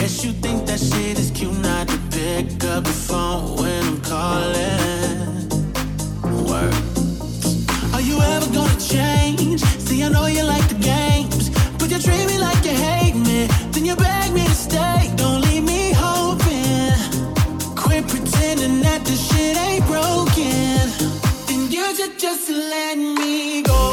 guess you think that shit is cute not to pick up the phone when I'm calling. Word. Are you ever gonna change? See, I know you like the games, but you treat me like you hate me. Then you beg me to stay. Don't leave me hoping. Quit pretending that this shit ain't broken. And you should just let me go.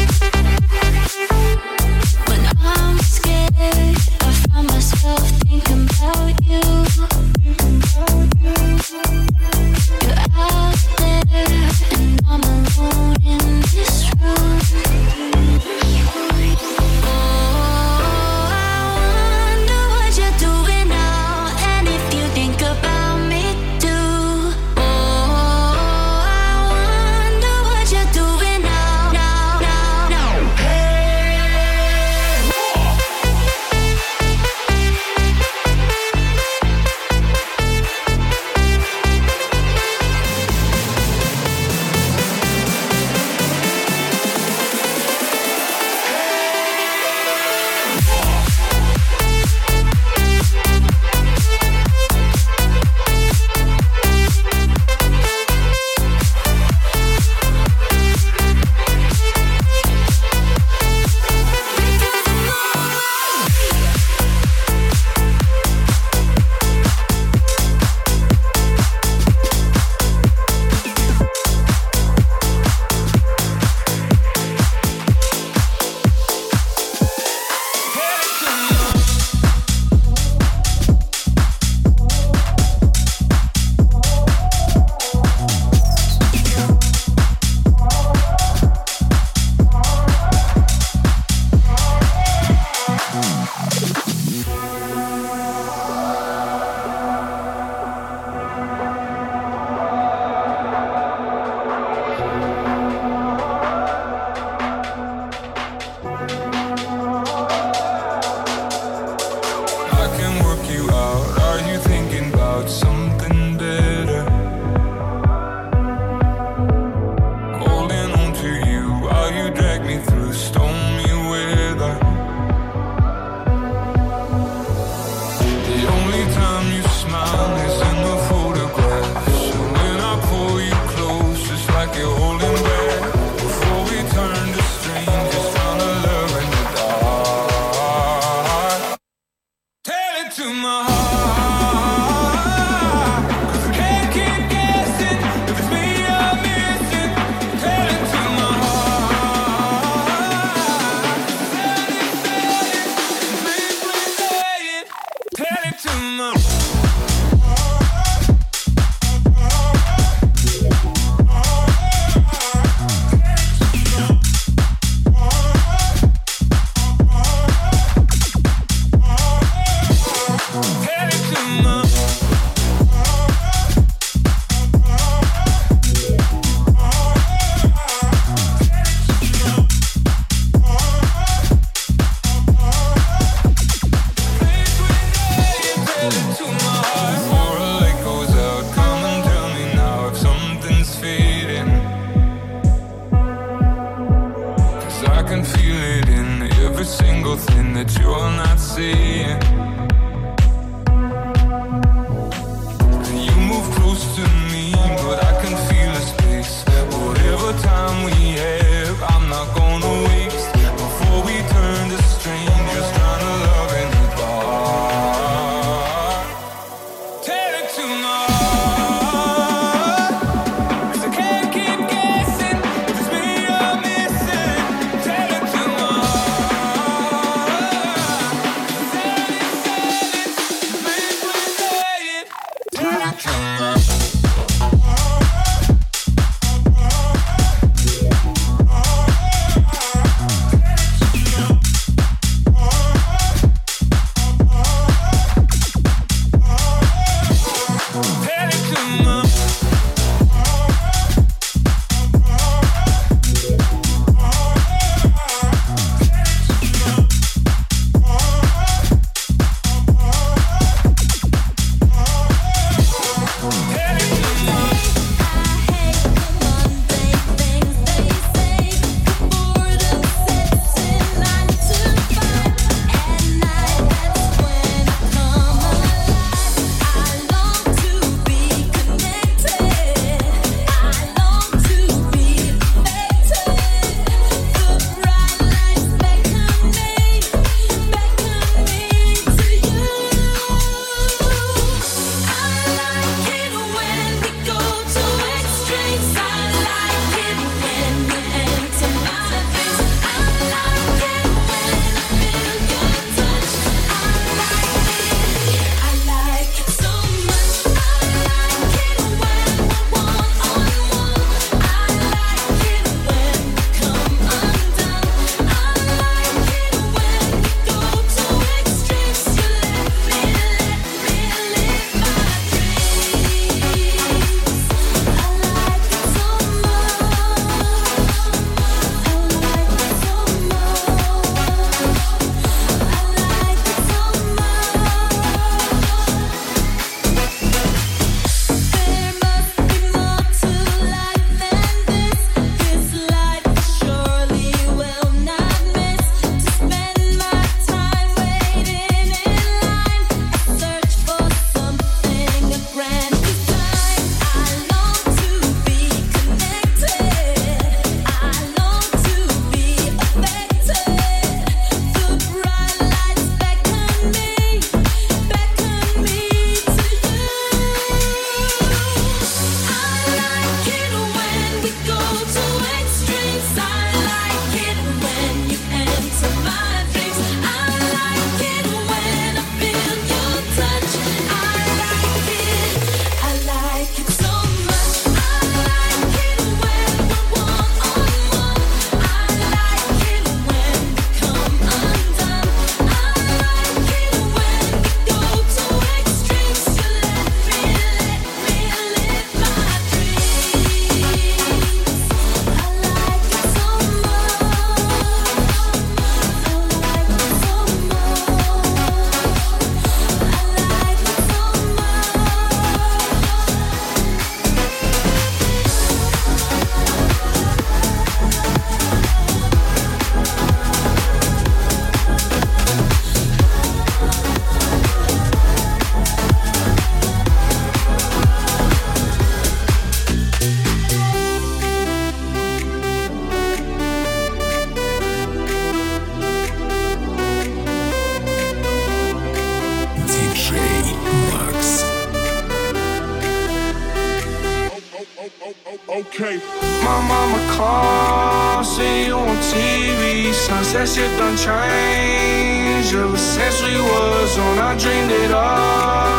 Think okay. My mama calls, see you on TV. Sunset shit done changed. Ever since we was on, I dreamed it all.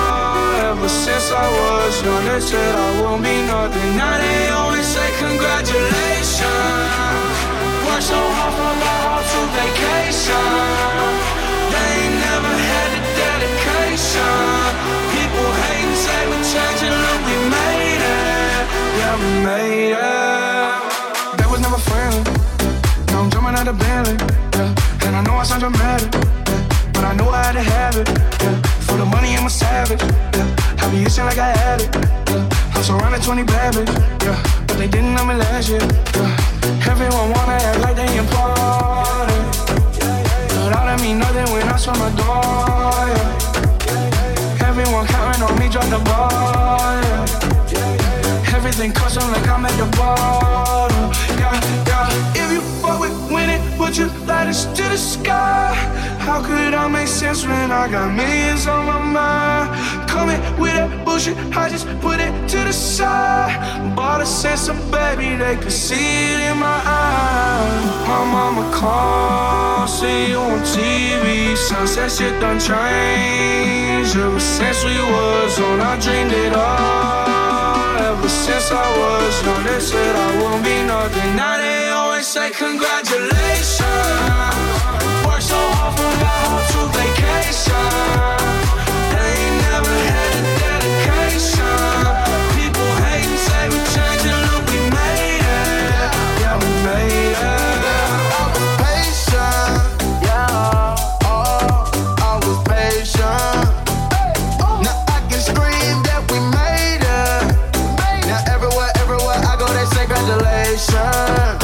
since I was young, they said I won't be nothing. Now they always say congratulations. Worked so hard, forgot how to vacation. They ain't never had the dedication. People hate and say we're changing, look, we made it. Yeah, we made it. That was never friendly. Now I'm jumping out of Bentley, yeah. And I know I sound dramatic, yeah. But I know I had to have it, yeah. For the money, I'm a savage, yeah. I be itching like I had it, yeah. I'm surrounded 20 bad bitches, yeah. But they didn't know me last year, yeah. Everyone wanna act like they important, but all that mean nothing when I swear my door, yeah. Everyone counting on me, drop the ball, yeah. Everything custom like I'm at the bottom, yeah, yeah. If you fuck with winning, would you light us to the sky? How could I make sense when I got millions on my mind? Coming with that bullshit, I just put it to the side. Bought a sense of baby, they could see it in my eyes. My mama called, see you on TV. Sunset shit done changed. Ever since we was on, I dreamed it all. Ever since I was young, they said I won't be nothing. Now they always say congratulations. Worked so hard, forgot how to vacation. They ain't never had the dedication. People hate and say we're changing, look, we made it. Yeah, we made it. I was patient, yeah. Oh, I was patient. Now I can scream that we made it. Now everywhere I go, they say congratulations.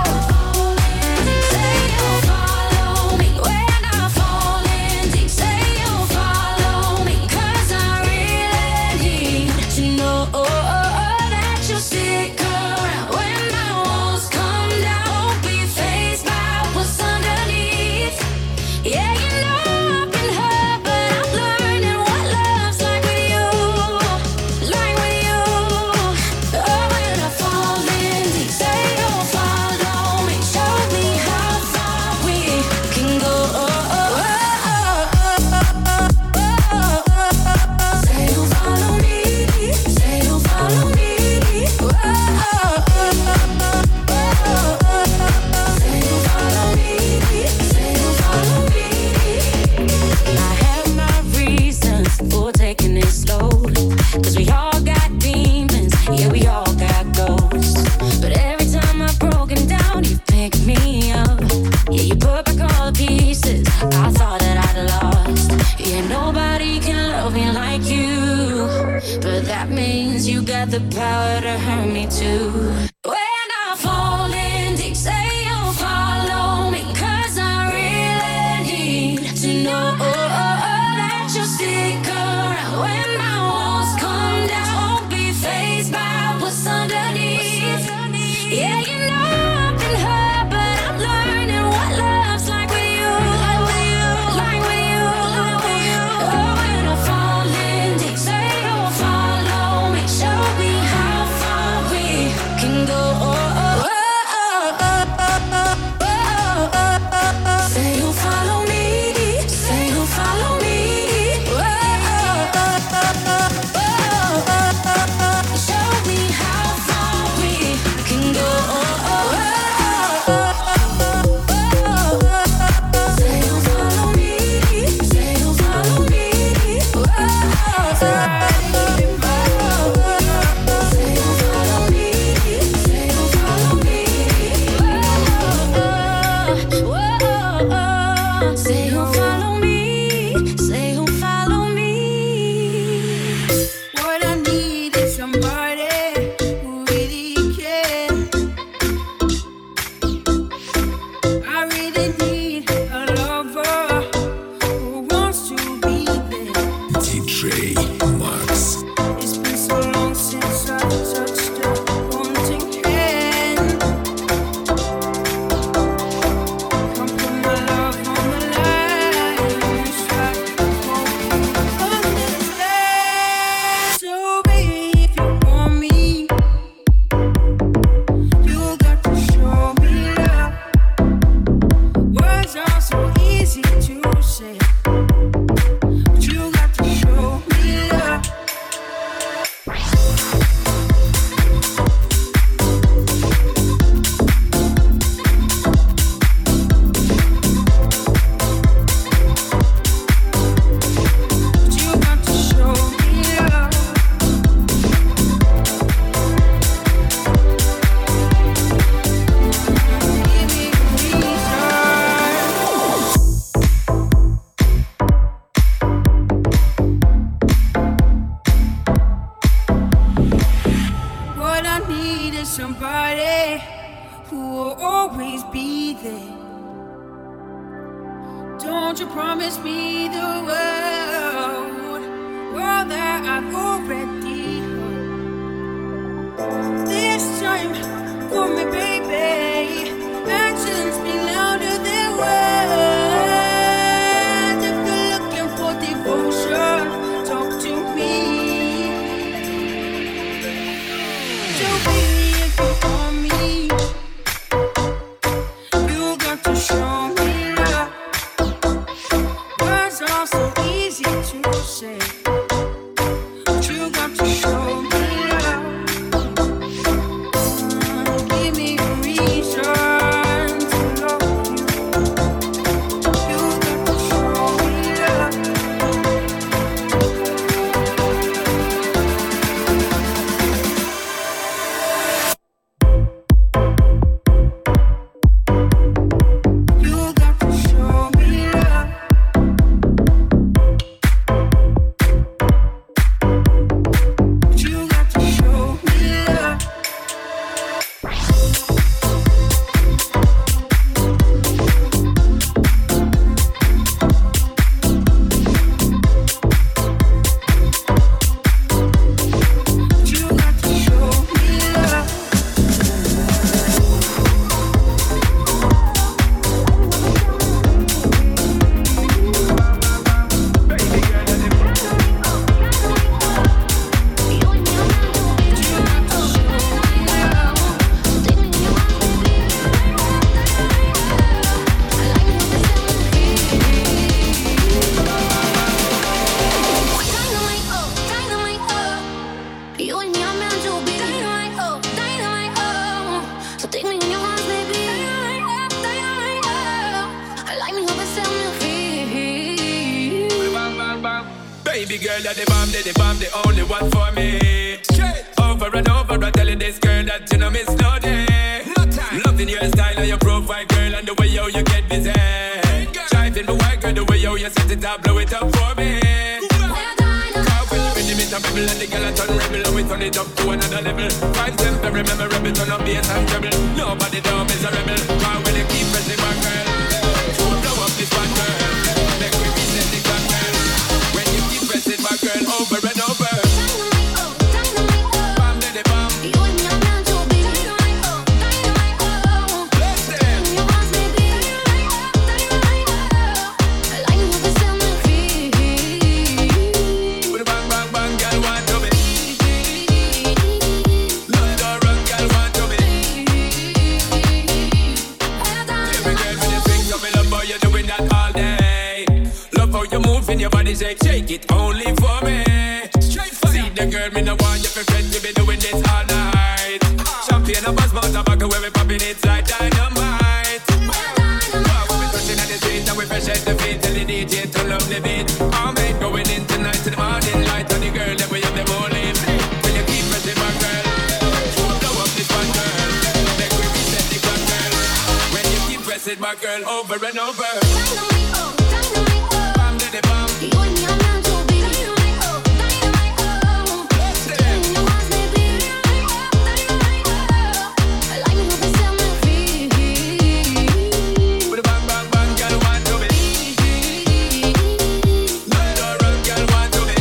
The power to hurt me too. When I fall in deep, say you'll follow me, 'cause I really need to know that you'll stick around. When my walls come down, won't be fazed by what's underneath. Yeah, you know I've been hurt, but I'm learning what love's like with you, like with you, like with you, like with you. Oh, when I fall in deep, say you'll follow me, show me how far we can go. Say you'll follow me, say you'll follow me. Show me how far we can go. Say you'll follow me, say you'll follow me. Say you'll follow me, say you'll follow me. What I need is somebody who really cares. I really need a lover who wants to be there. DJ Max. It's been so long since I touched a haunting hand. Come put my love on the line. It's like falling on this land. So baby, if you want me, you got to show me love. Words are so easy to say, but you got to show me something. Don't you promise me the world that I've already heard. This time, for me, baby. Actions speak louder than words. If you're looking for devotion, talk to me. So baby, if you want me, you got to show me love. Words are so easy to say, but you got to show me love. Give me a reason to love you. You got to show me love. You got to show me love. You got to show me love. You got to show me love. You and me are meant to be dynamite, oh, dynamite, oh. So take me in your arms, baby. Dynamite, dynamite, oh. I like me up and set me free. Bang, bang, bang. Baby girl, you're the bomb, the only one for me. Straight over and over, I telling this girl that you know miss no day. No time. Loving your style and your profile, girl, and the way how you get busy. Driving my white girl, the way how you set it up, blow it up for me. Car when you rhythm it and rebel, and the girl a turn rebel, and we turn it up to another level. Find them very memorable, turn up bass and treble. Nobody down is a rebel. Car when you keep pressing my girl, blow up this one girl. Make we reset the clock, girl. When you keep pressing my girl over and over. Dynamite, oh, dynamite, oh. Bam, daddy, bam. You and me are meant to be dynamite, oh, dynamite, oh. Bless them. In your arms, baby. Dynamite, oh. I like me up and set me free. With a bang, bang, bang, girl want to be. London run, girl want to be. Every girl when you swing, so me love how you doing that all day. Love how you move in your body, shake it only for me. Straight fire. See the girl, me no want you for friends, we be doing this all night. Champagne and buzz, mouth tobacco, where we popping it like dynamite. Wow, we be touching at the street and we fresh at the feet, tell the DJ to love the beat. All mate going in tonight to the morning light, and the girl that we have them all in. Will you keep pressing my girl? Blow up this one girl, make we reset the clock, girl. When you keep pressing my girl over and over. Dynamite, oh, dynamite, oh. Bam, daddy, bam. You and me are meant to be dynamite, oh, dynamite, oh. Bless them. In your arms, baby. Dynamite, oh. I like me up and set me free. With a bang, bang, bang, girl want to be. London run, girl want to be.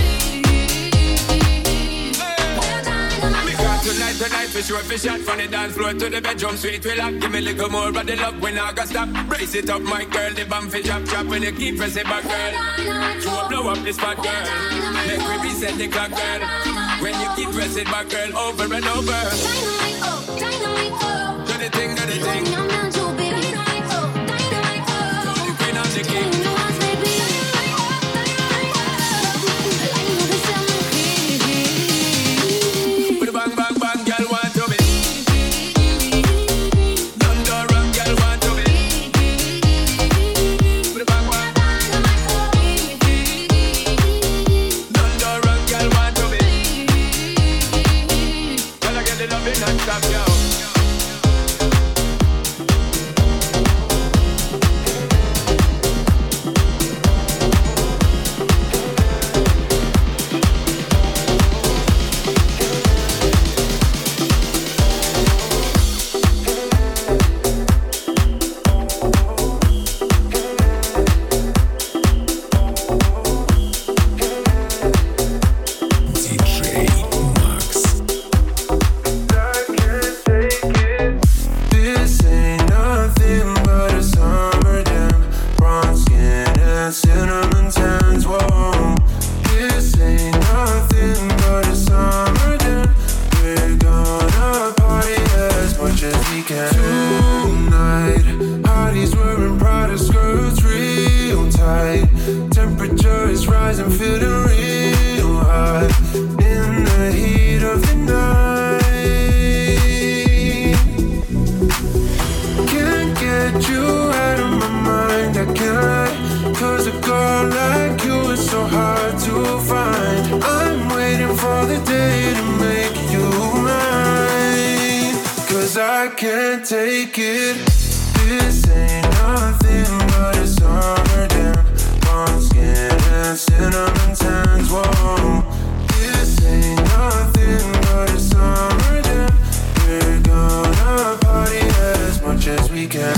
Because tonight for sure, fish out from the dance floor to the bedroom suite. We lock, give me a little more of the love when I got stop. Brace it up, my girl, the bam fi chop chop. When you keep pressing back, girl, you will blow up this spot, girl. Make we reset the clock, girl. When you keep pressing back, girl, over and over. Dynamite, oh, dynamite, oh. Do the thing, do the You and thing. me are meant to be dynamite, oh, dynamite, oh. The queen of the king. In your arms, baby. Dynamite, oh. I like me up and set me free. With a bang, bang, bang, girl want to be. London run, girl want to be. With a bang, bang. London run, girl want to be. Girl, I get the loving non-stop, yo. tens. Whoa, this ain't nothing but a summer jam. We're gonna party as much as we can tonight. Hotties wearing Prada skirts real tight. Temperature is rising, feeling real hot in the heat of the night. Can't get you out of my mind, I can't lie. 'Cause a girl like you is so hard to find. I'm waiting for the day to make you mine. 'Cause I can't take it. This ain't nothing but a summer jam. Warm skin and cinnamon tans. Whoa, this ain't nothing but a summer jam. We're gonna party as much as we can.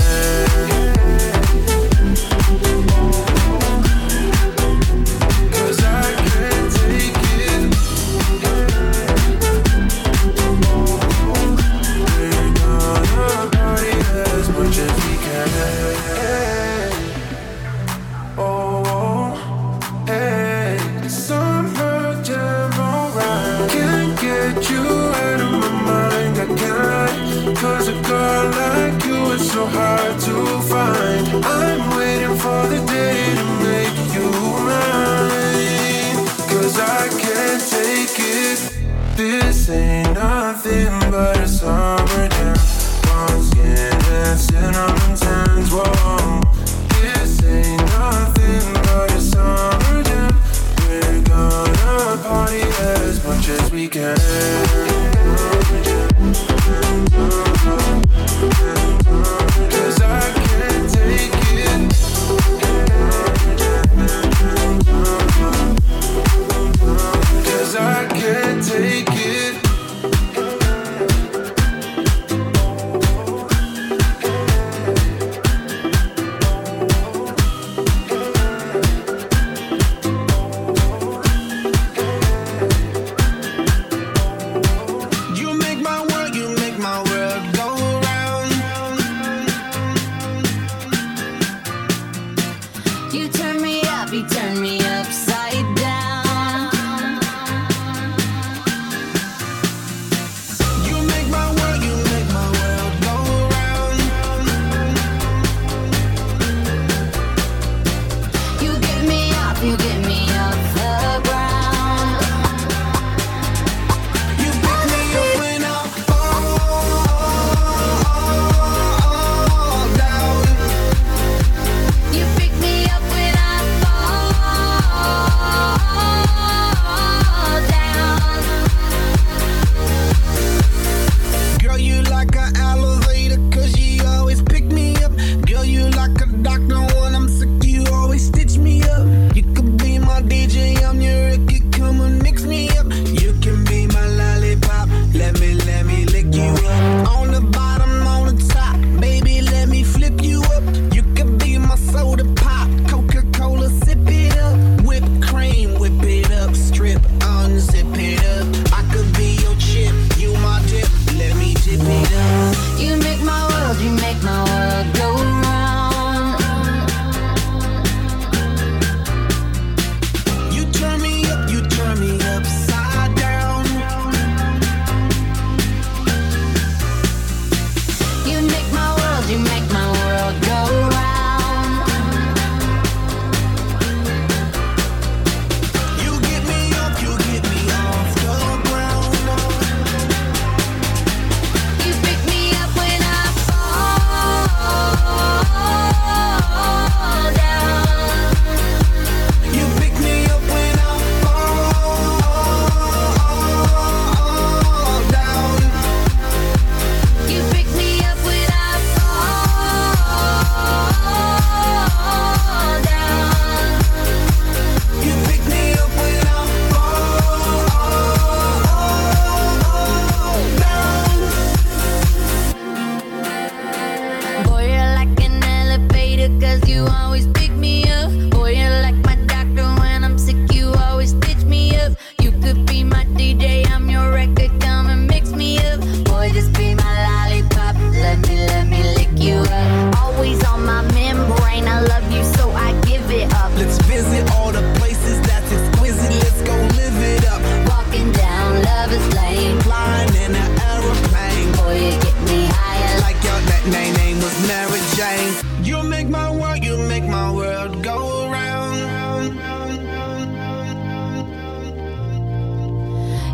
Cause a girl like you is so hard to find. I'm waiting for the day to make you mine. 'Cause I can't take it. This ain't nothing but a summer jam. Warm skin and cinnamon tans. Whoa, this ain't nothing but a summer jam. We're gonna party as much as we can. Cause I can't take it. Cause I can't take it. Doctor, when I'm sick, you always stitch me up. You could be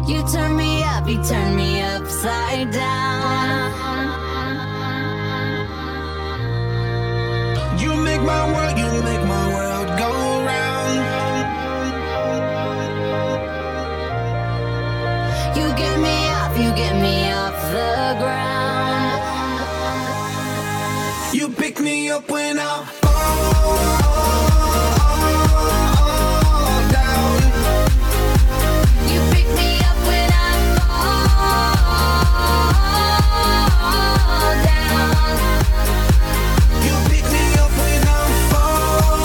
You turn me up, you turn me upside down. You make my world go round. You get me off the ground. You pick me up when I fall down. You pick me up when I fall down. You pick me up when I fall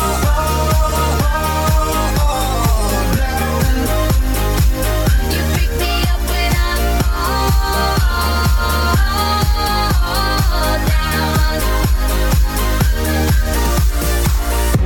down. You pick me up when I fall down.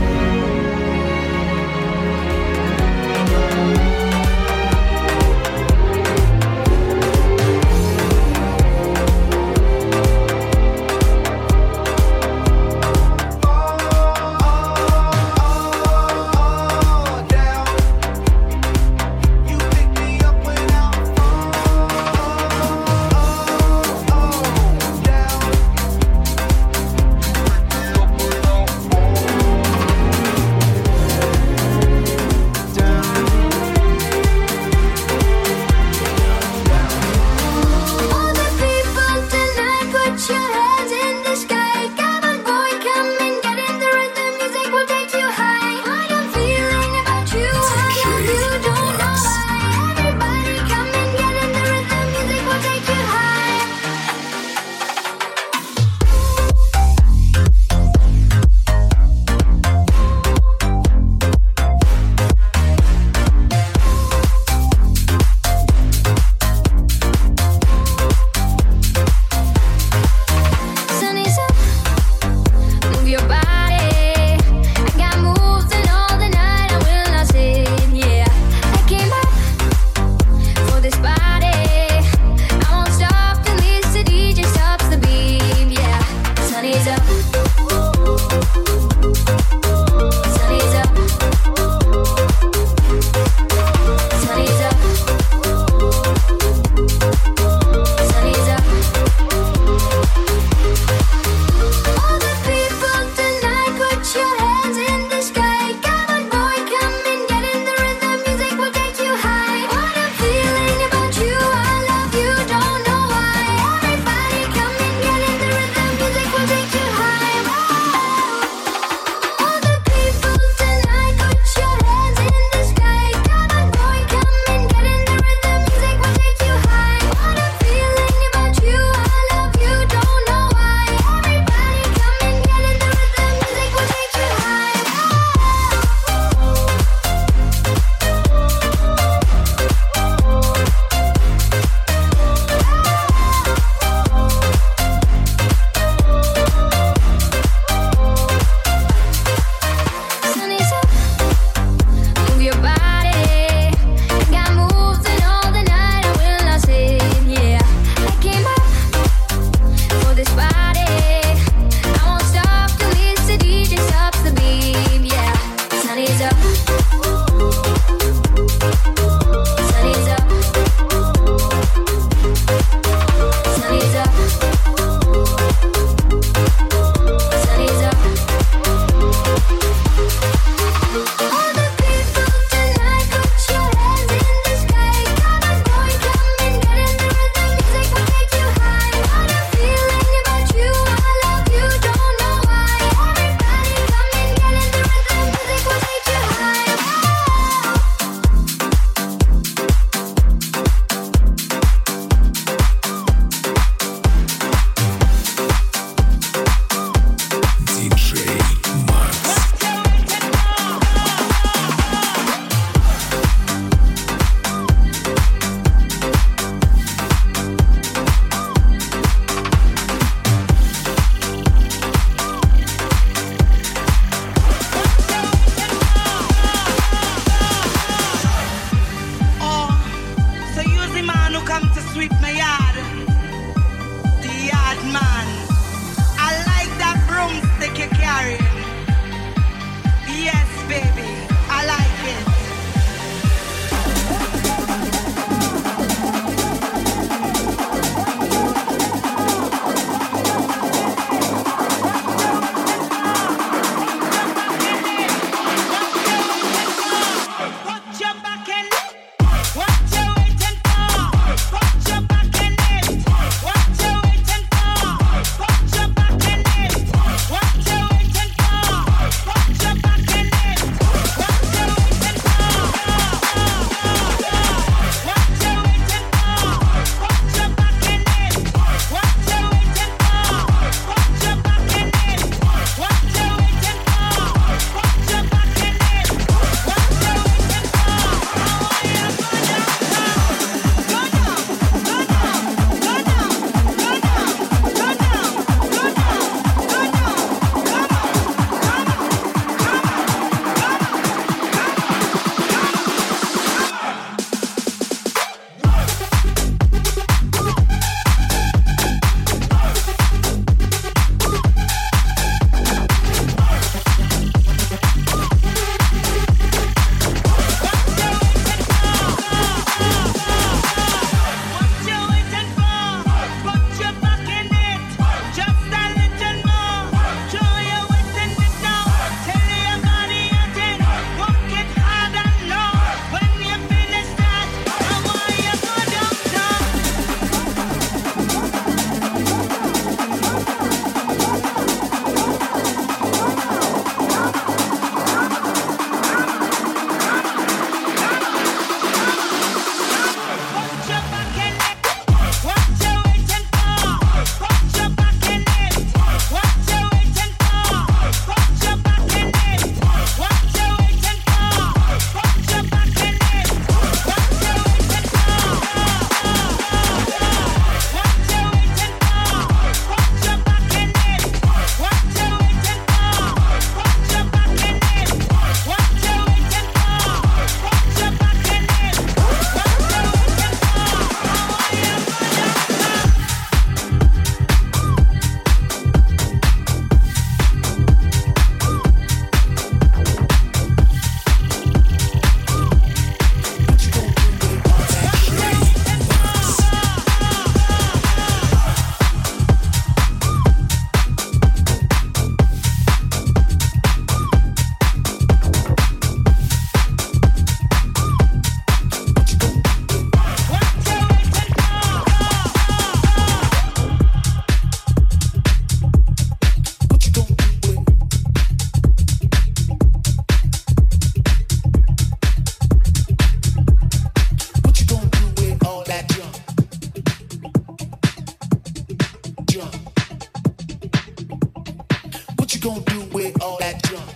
gonna do with all that junk?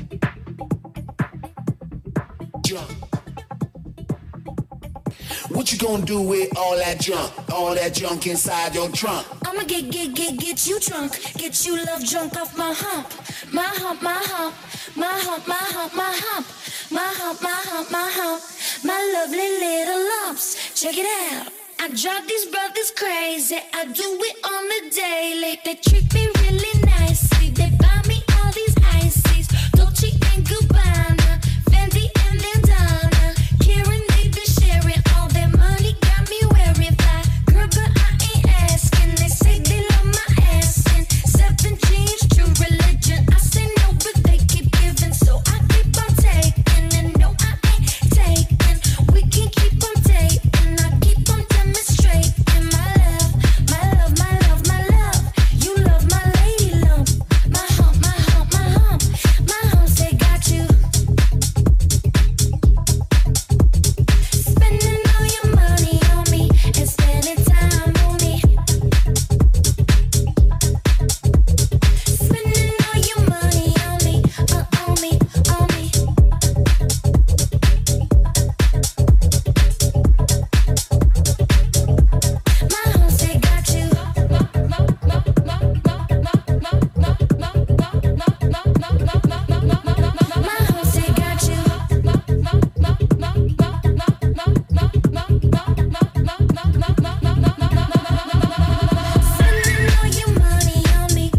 Junk. What you gonna do with all that junk? All that junk inside your trunk? I'ma get you drunk, get you love drunk off my hump, my hump, my hump, my hump, my hump, my hump, my hump, my hump, my hump, my lovely little lumps. Check it out. I drive these brothers crazy. I do it on the daily. They treat me really nicely. They buy me all these ices, Dolce and Gabbana, Fendi and Bandana. Karen, they been sharing all their money, got me wearing fly. Girl, but I ain't asking. They say they love my ass and 7 jeans, true religion. I say no, but they keep giving, so I keep on taking. And no, I ain't taking. We can keep on dating. I keep on demonstrating my love, my love, my love, my love. You love my lady lump, my hump, my hump, my hump, my humps. They got you spending all your money on me and spending time on me. Spending all your money on me, on me, on me. My humps, they got you. My humps, they got you. Spending all your money on me.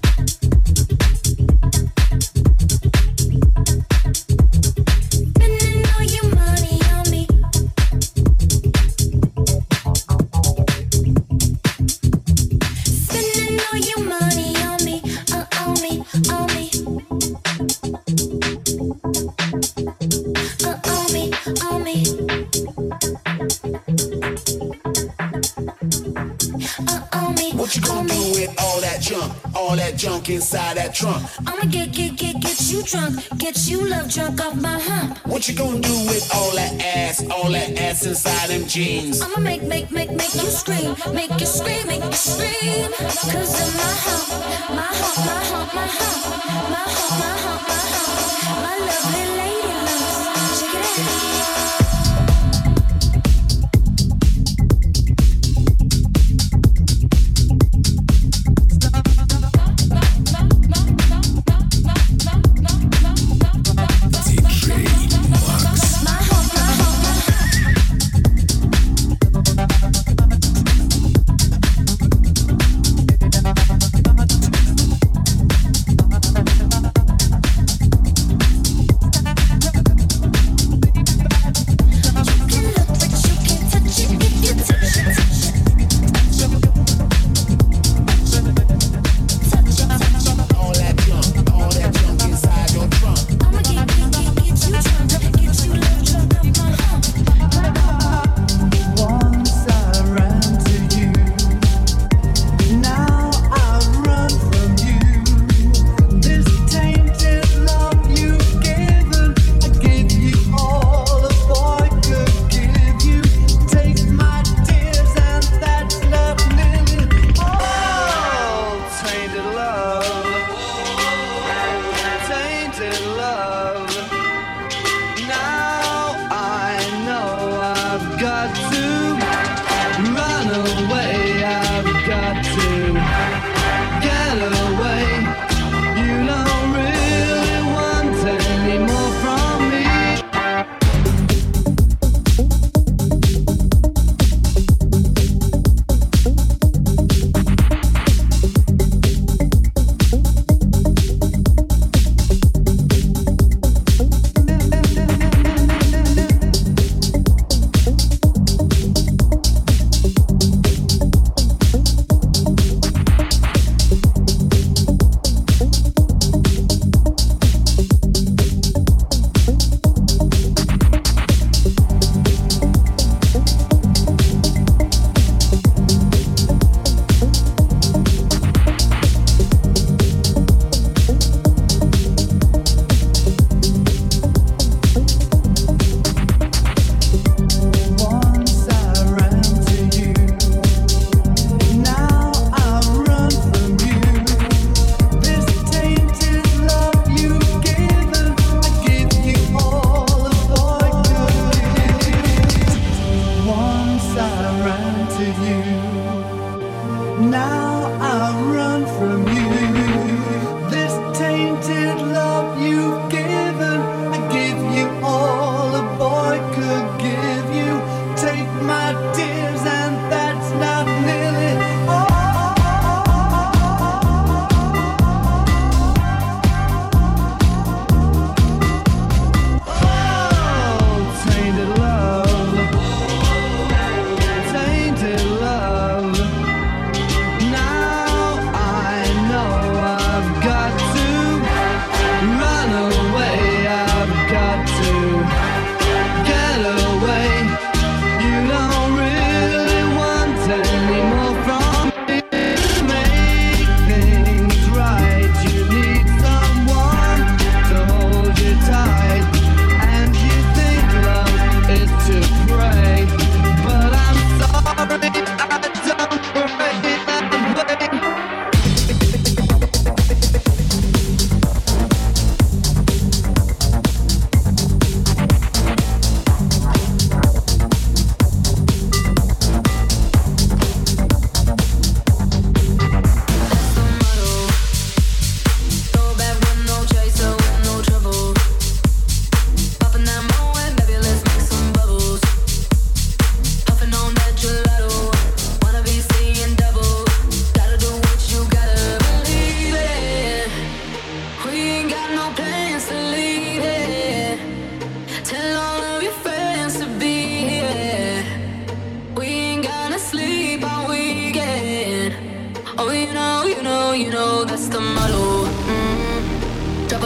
Spending all your money on me. Spending all your money on me, on me, on me. On me, on me. On me. What you gonna do with all that junk? All that junk inside that trunk? I'ma get you drunk, get you love drunk off my hump. What you gonna do with all that ass inside them jeans? I'ma make you scream, make you scream, make you scream. 'Cause of my hump, my hump, my hump, my hump, my hump, my hump, my hump, my lovely lady lumps. Check it out. DJ Max. My hump, my hump, my hump.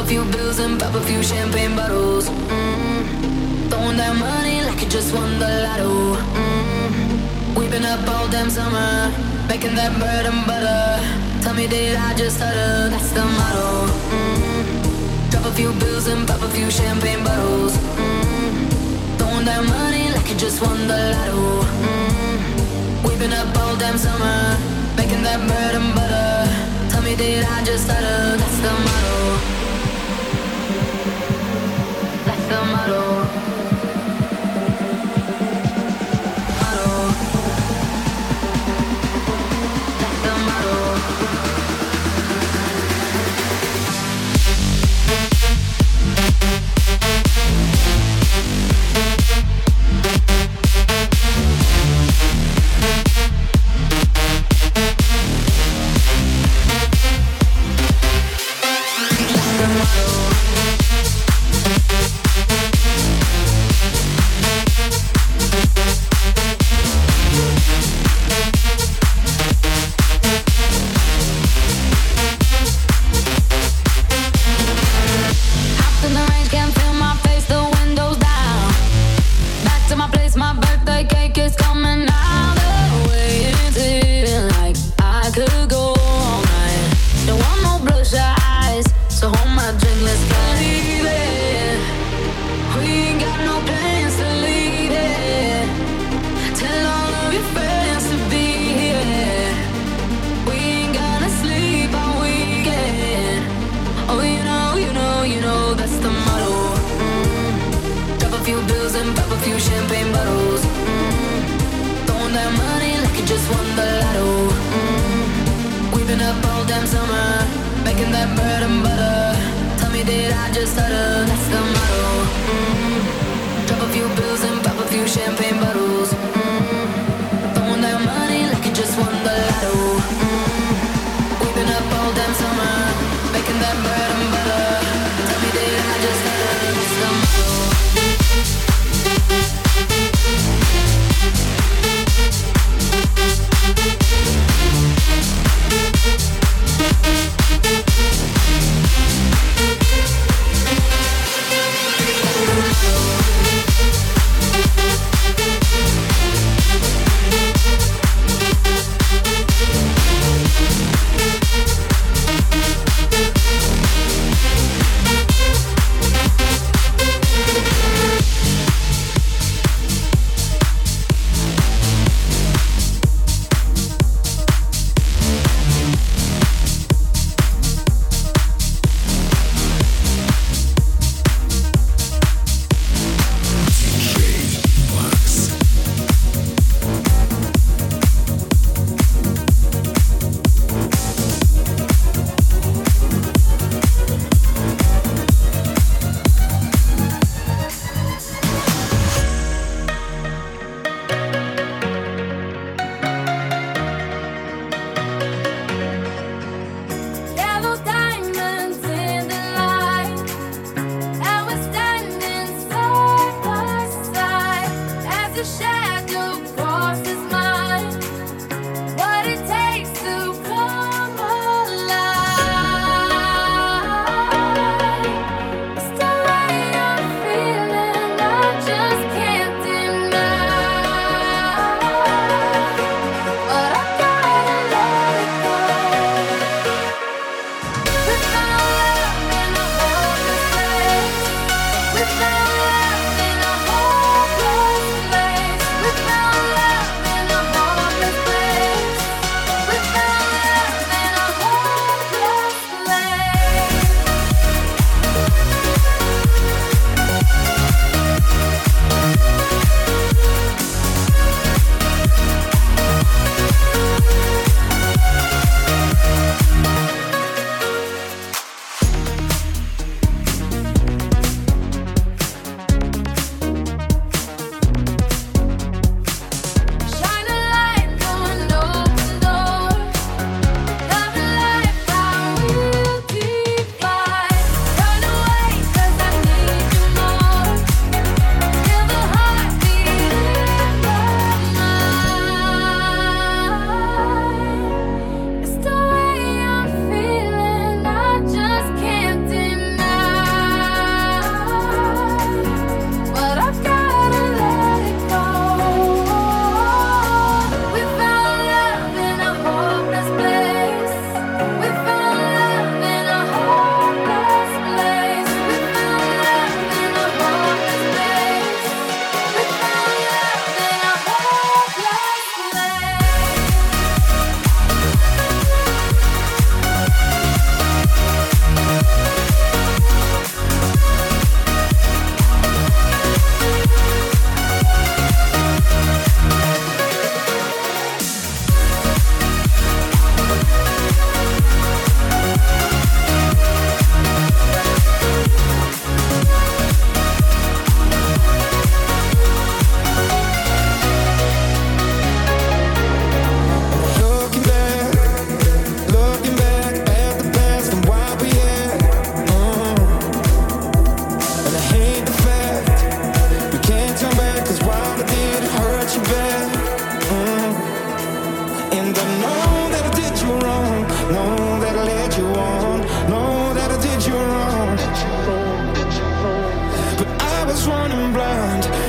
few bills and pop a few champagne bottles. Throwing that money like you just won the lotto. We've been up all damn summer, making that bread and butter. Tell me, did I just stutter? That's the motto. Drop a few bills and pop a few champagne bottles. Throwing that money like you just won the lotto. We've been up all damn summer, making that bread and butter. Tell me, did I just stutter? That's the motto. That's the motto.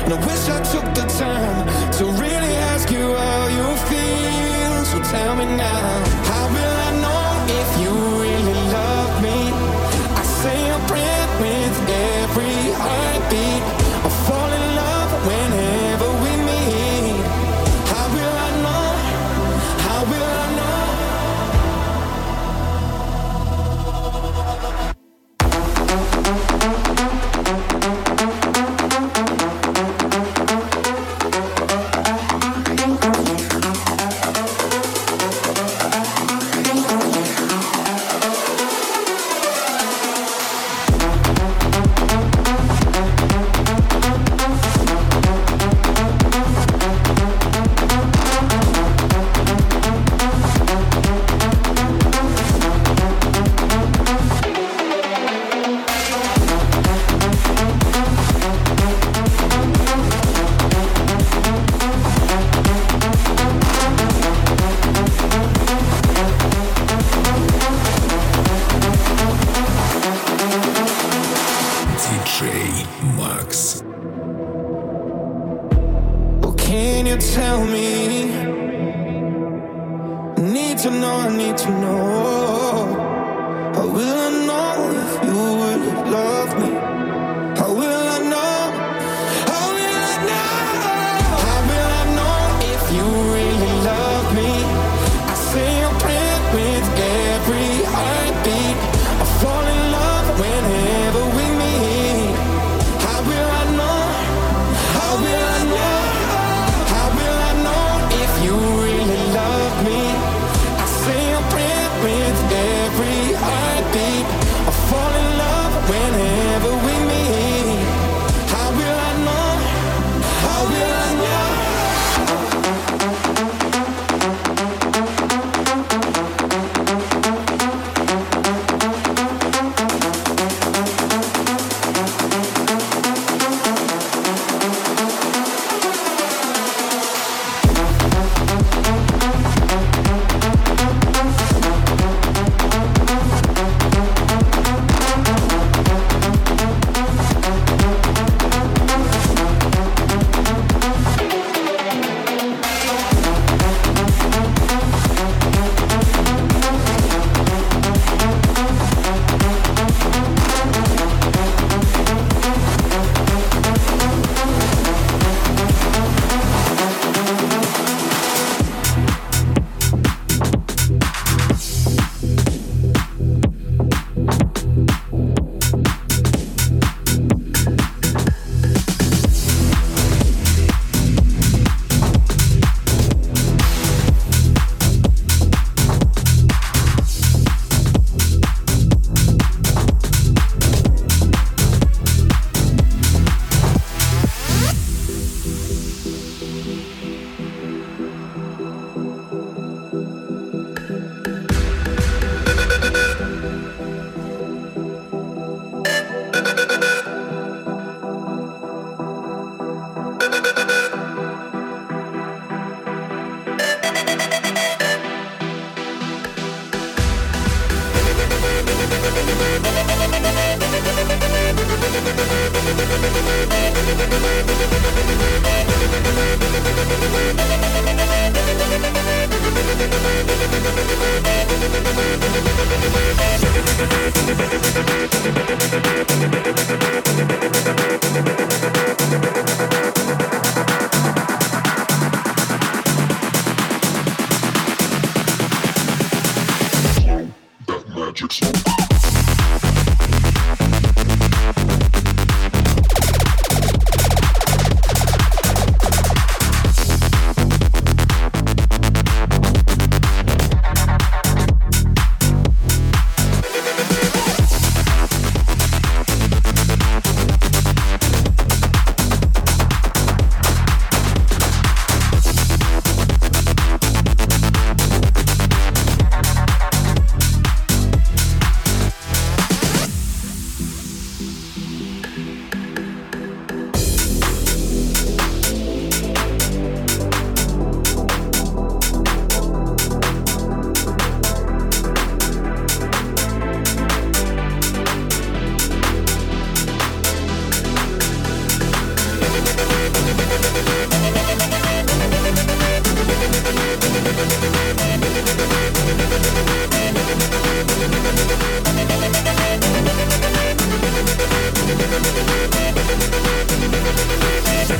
And I wish I took the time to really ask you how you feel. So tell me now, how will I know if you really love me? I say a prayer with every heartbeat. I fall in love whenever we meet. How will I know? How will I know? Tell me, need to know, I need to know. How will I know if you really love me? How will I know? How will I know? How will I know if you really love me? I say a prayer with every heartbeat. I fall in love whenever we meet. How will I know? How will I know? You really love me. I say a prayer with every heartbeat. I fall in love whenever we meet. How will I know? How will I know?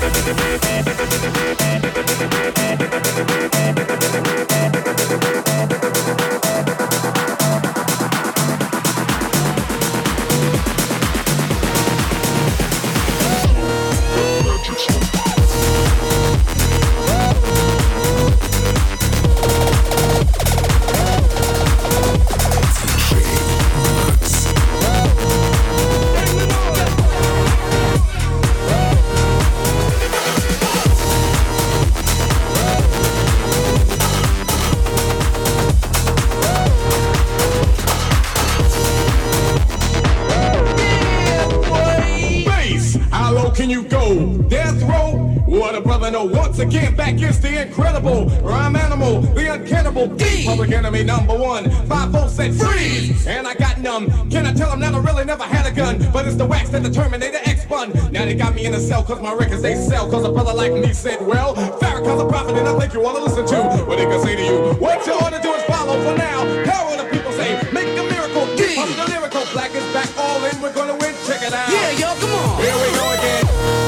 Can you go? Death row? What a brother know. Once again, back is the incredible rhyme animal, the uncannibal D. Public enemy number one. 5-4 said freeze, and I got numb. Can I tell them that I really never had a gun? But it's the wax that the Terminator X spun. Now they got me in a cell cause my records they sell. Cause a brother like me said, well, Farrakhan's a prophet and I think you wanna listen to what they can say to you. What you ought to do is follow for now. Power the people say, make a miracle. D. Pump the lyrical, black is back, all in, we're gonna win. Check it out. Yeah, yo, come on. Here we go again.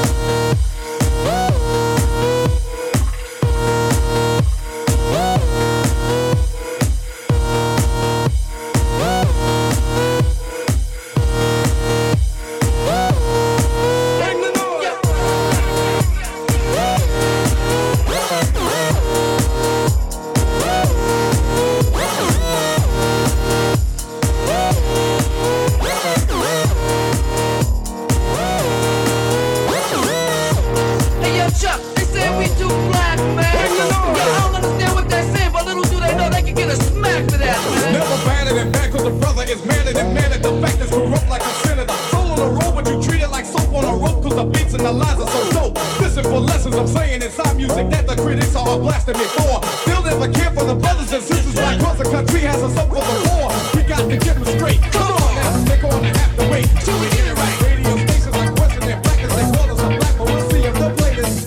Blasting me for. Still never care for the brothers and sisters. Like across the country has us up for the war. We got to get them straight. Come on now, they're gonna have to wait till we get it right. Radio stations like Western and Black as they call us a black, but we'll see if they'll play this.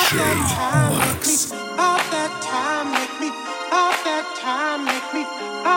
Make me